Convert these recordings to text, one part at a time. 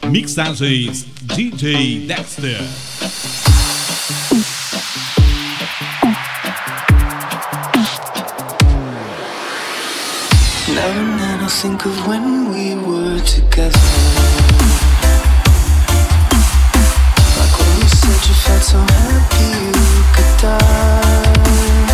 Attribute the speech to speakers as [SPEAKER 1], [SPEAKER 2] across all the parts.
[SPEAKER 1] Mixagens DJ Dexter.
[SPEAKER 2] Now and then I think of when we were together, like when you said you felt so happy you could die.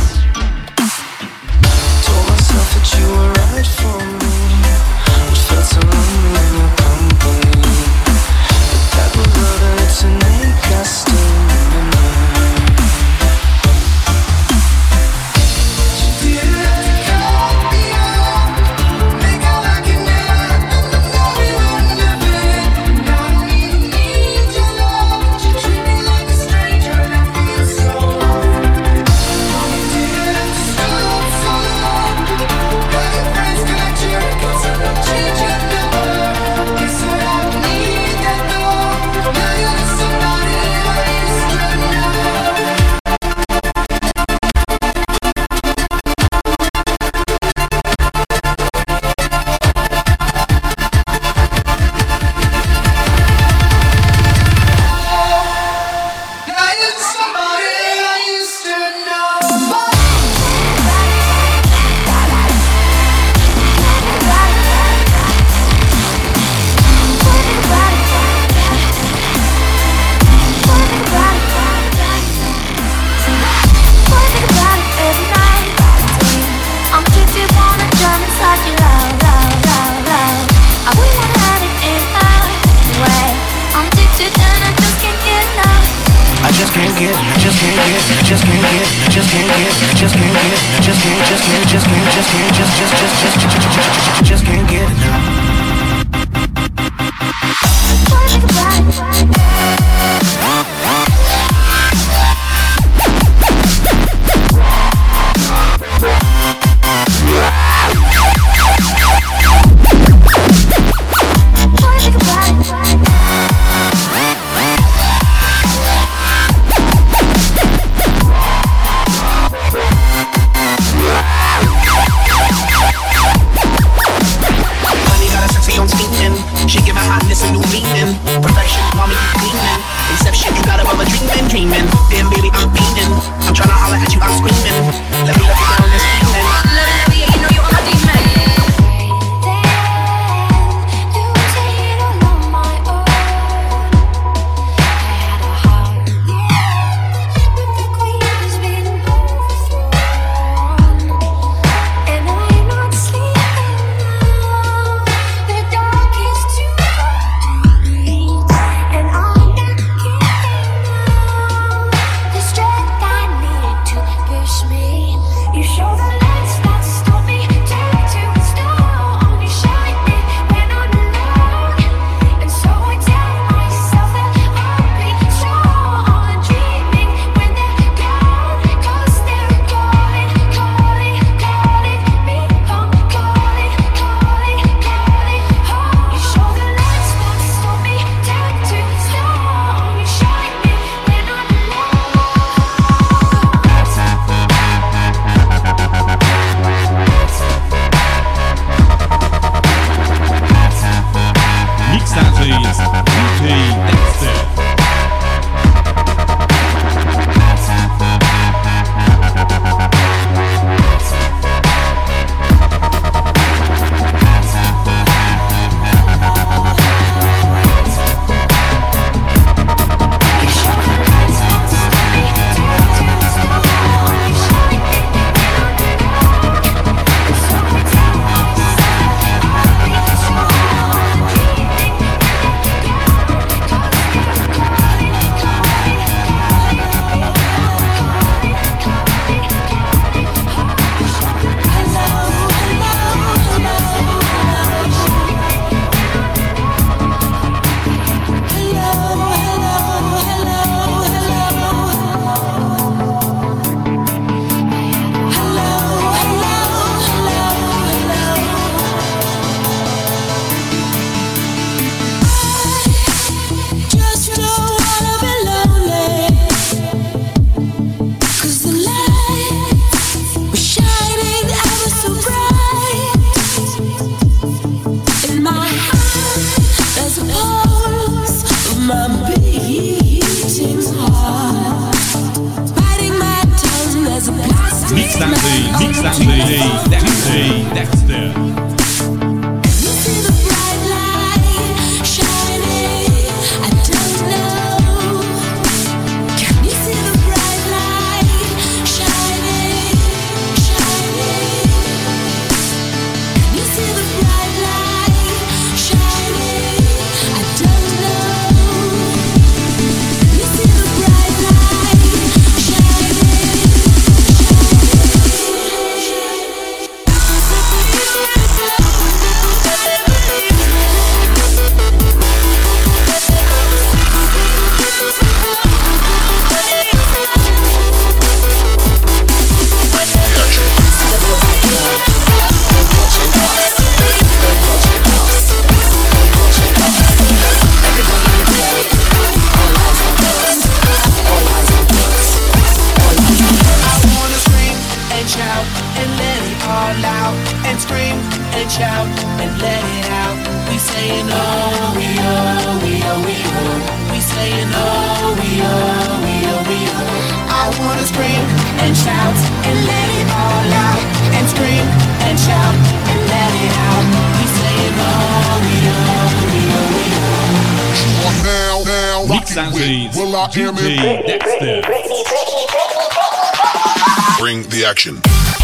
[SPEAKER 2] Told myself that you were right for me, but felt so lonely in your company. The type of love that's innate, I still remember. Just can't get enough.
[SPEAKER 1] DJ Dexter. DJ Dexter.
[SPEAKER 3] Bring the action.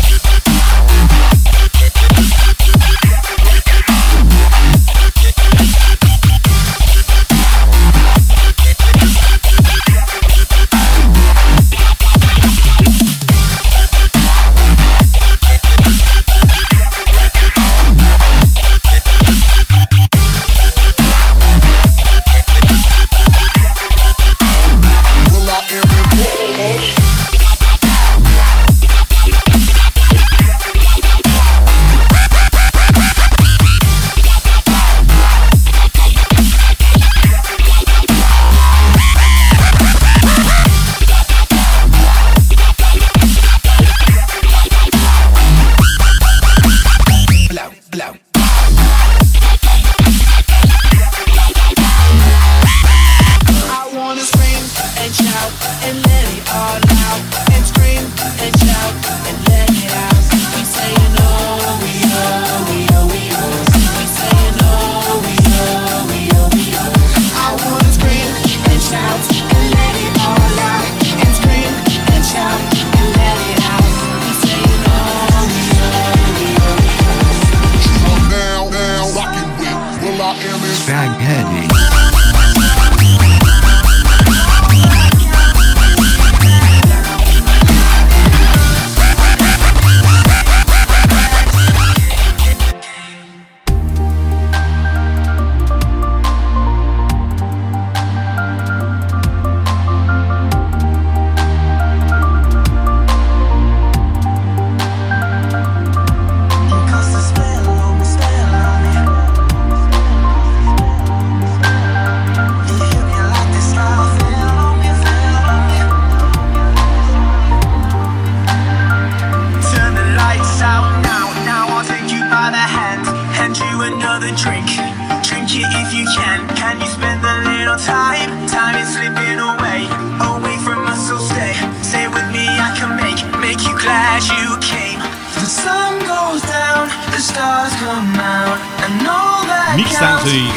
[SPEAKER 1] Mixante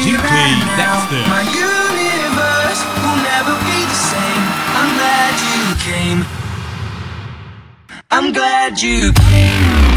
[SPEAKER 1] DJ Dexter.
[SPEAKER 2] My universe will never be the same. I'm glad you came. I'm glad you came.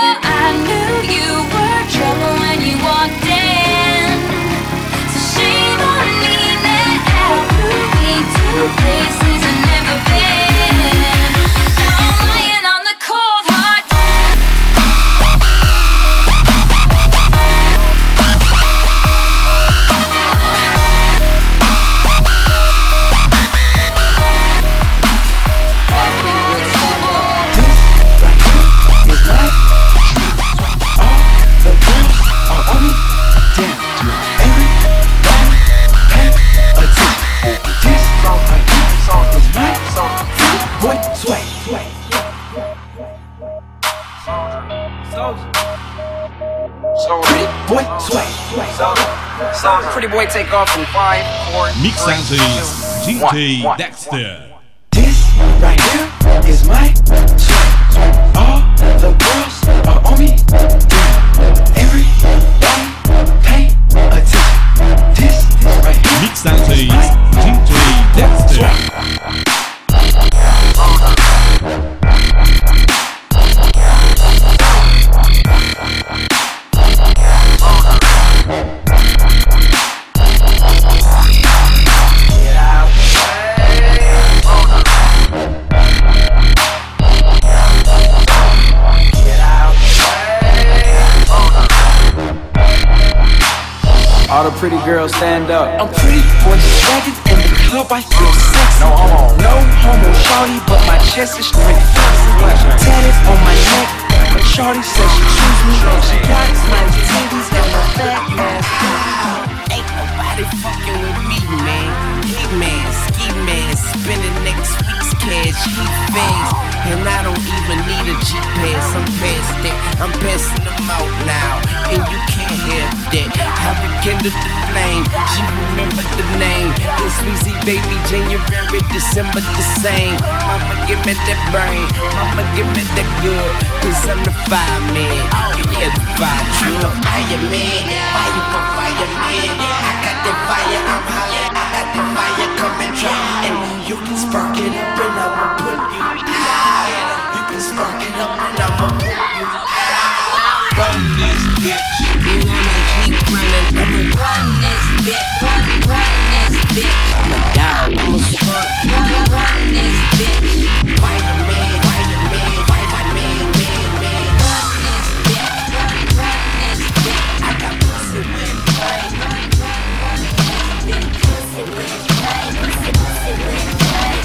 [SPEAKER 2] She
[SPEAKER 3] Pretty boy take off in 5, 4, 3,
[SPEAKER 1] Mixagens
[SPEAKER 3] 2,
[SPEAKER 1] DJ
[SPEAKER 3] 1.
[SPEAKER 1] Dexter.
[SPEAKER 4] This right here is my song. All the girls are on me. Everybody pay attention. This right here.
[SPEAKER 1] Mixagens DJ Dexter.
[SPEAKER 5] All the pretty girls stand up.
[SPEAKER 4] I'm pretty boy swaggin' in the club, I feel sexy. No homo shawty, but my chest is straight flexy. Tatted on my neck, but shawty says she choose me. She got nice titties and a fat ass.
[SPEAKER 3] Ain't nobody fucking with me, man. Hey man, ski man, spending next week's cash, he face. And I don't even need a G-Pass, I'm past that. I'm passing them out now, and you can't have that. I rekindled the flame, she remembered the name. It's Weezy baby, January, December the same. Mama give me that brain, mama give me that good. Cause I'm the fireman, give me the fire truck. Fireman, fire for fireman. I got that fire, I'm hollering. I got that fire coming dry. And you can spark it up and I'ma put you out. You can spark it up and I'ma put you out. Run this bitch. And I'ma keep running. I'ma run this bitch. Run this bitch. I'm a dog. I'm a spark. Run this bitch. Fireman, fireman, fireman, man. Run this bitch. Run this bitch. I got pussy with brain. Pussy with brain. Pussy with brain.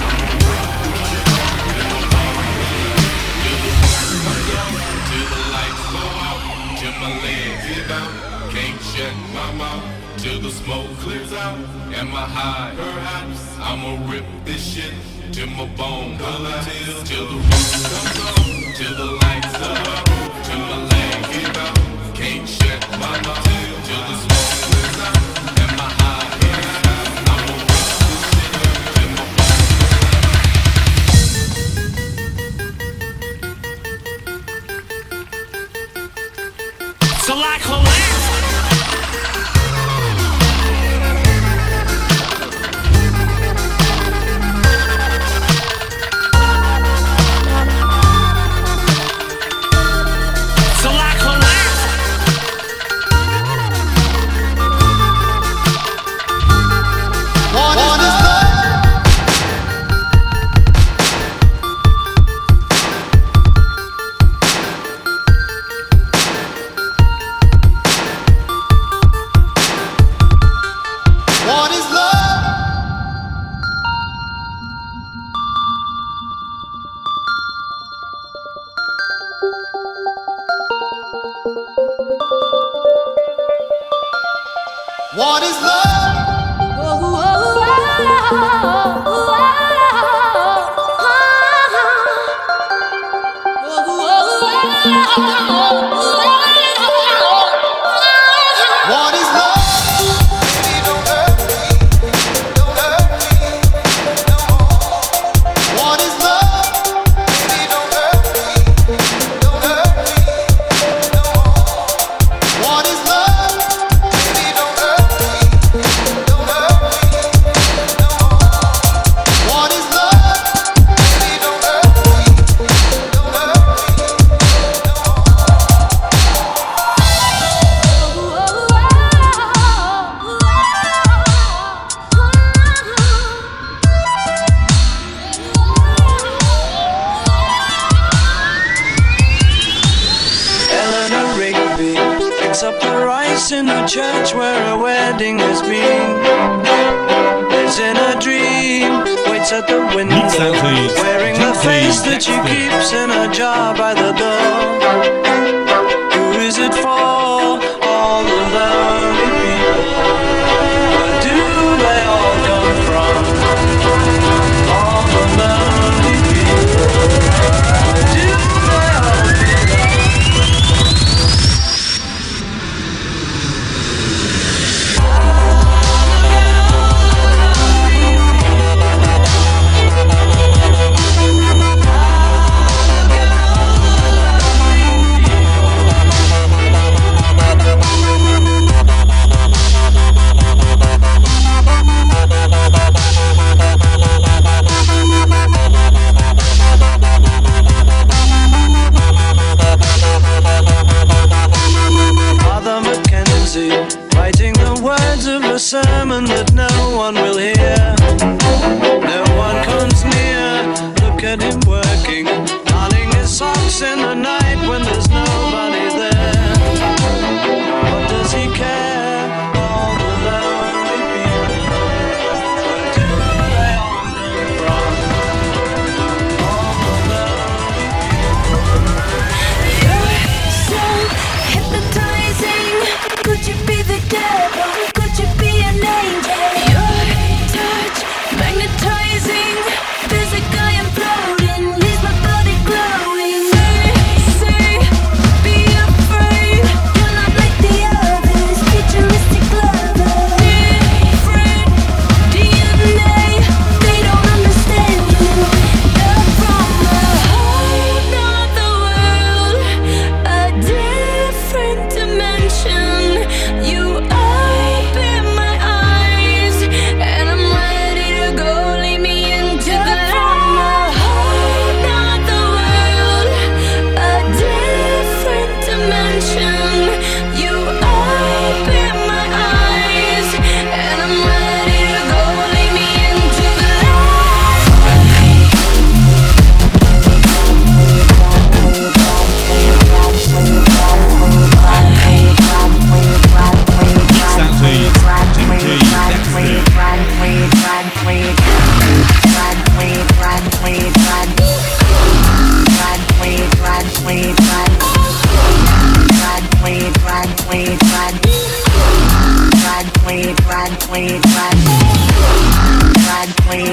[SPEAKER 6] Till the lights go out, till my legs give out. Can't shut my mouth till the smoke clears out. Am I high? Perhaps I'ma rip this shit till my bone color till the roof comes on, till the lights go out, till my legs give out. Can't shut my mouth till the smoke clears out. Am I high? Perhaps I'ma rip this shit till my bone.
[SPEAKER 7] So like Holland. So like Holland.
[SPEAKER 8] What is love? What is love? What is love? What is love? Baby, don't hurt me. Don't hurt me no more. What is love? Baby, don't hurt me. Don't hurt me no more. What is love? Baby, don't hurt me. Don't hurt me no more. What is love? Baby, don't hurt me. Don't hurt me no
[SPEAKER 2] Eleanor Rigby picks up the rice in the church where a wedding has been. Lives in a dream, waits at the window,
[SPEAKER 1] Mixagens
[SPEAKER 2] wearing the
[SPEAKER 1] DJ
[SPEAKER 2] face that she
[SPEAKER 1] Dexter.
[SPEAKER 2] keeps in a jar by the door. Who is it for? All the lonely people. Where do they all come from? All the lonely people. Where do they all belong?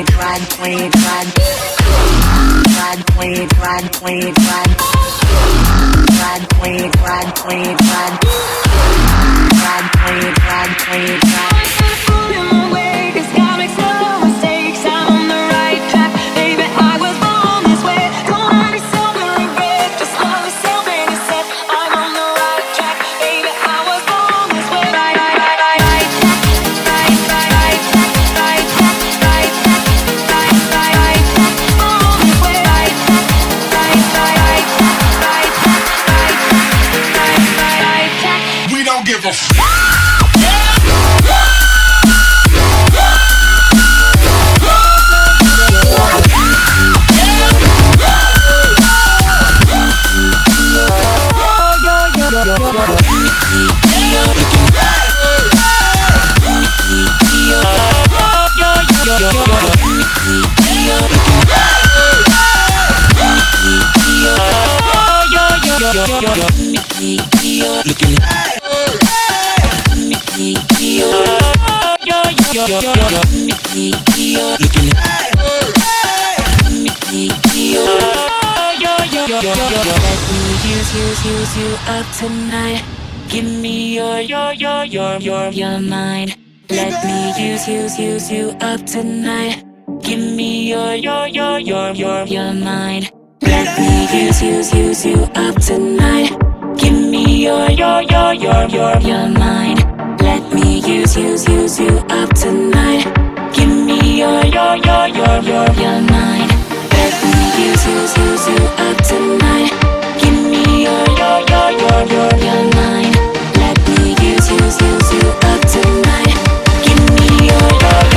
[SPEAKER 9] Use you up tonight. Give me your mind. Let me use you up tonight. Give me your mind. Let me use you up tonight. Give me your mind. Let me use you up tonight. Give me your mind. Let me use you up tonight. Give me your mind. Let me use you up tonight. Give me your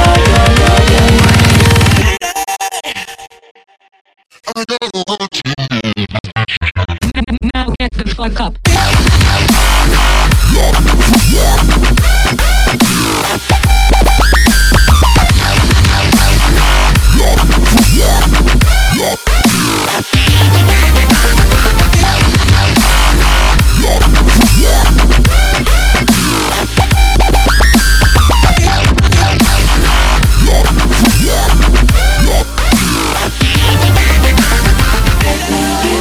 [SPEAKER 9] mind. Now get the fuck up.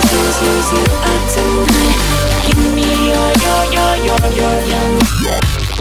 [SPEAKER 9] Use you up tonight. Give me your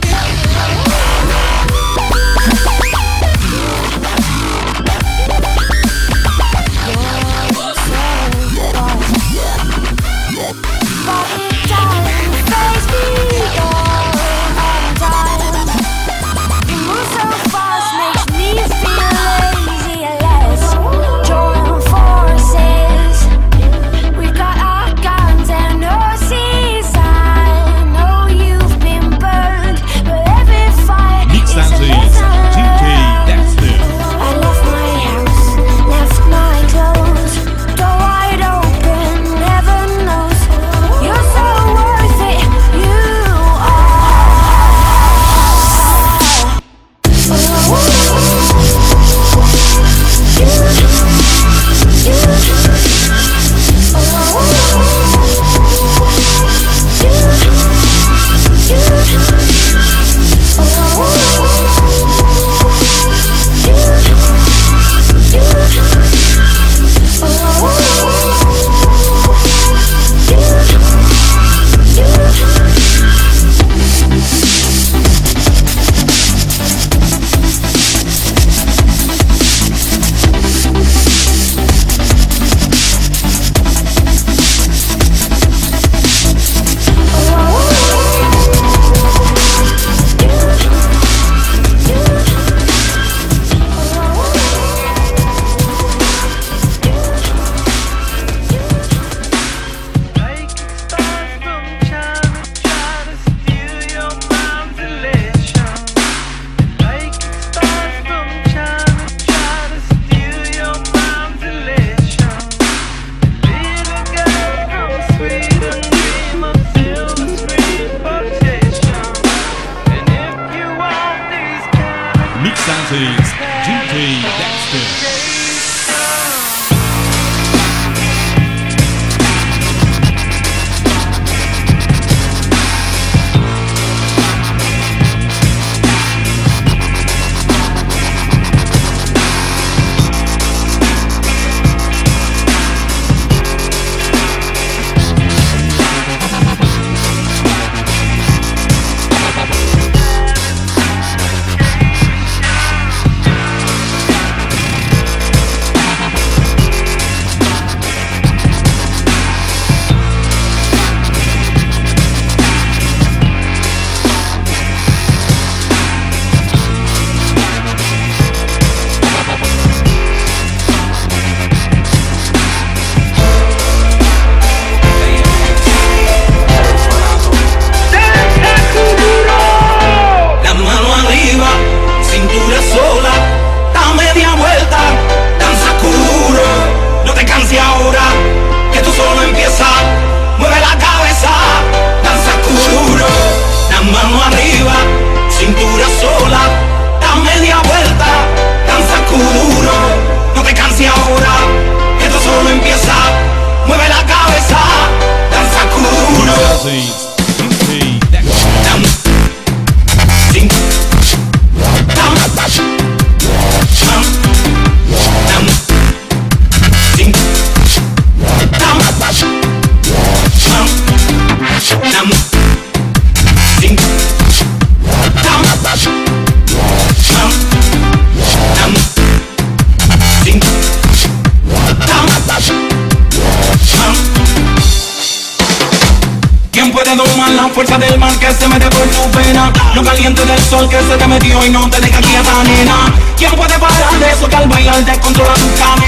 [SPEAKER 10] la fuerza del mar que se mete por tu pena. Lo caliente del sol que se te metió y no te deja quieta, nena. ¿Quién puede parar de eso que al bailar descontrola tu cadena?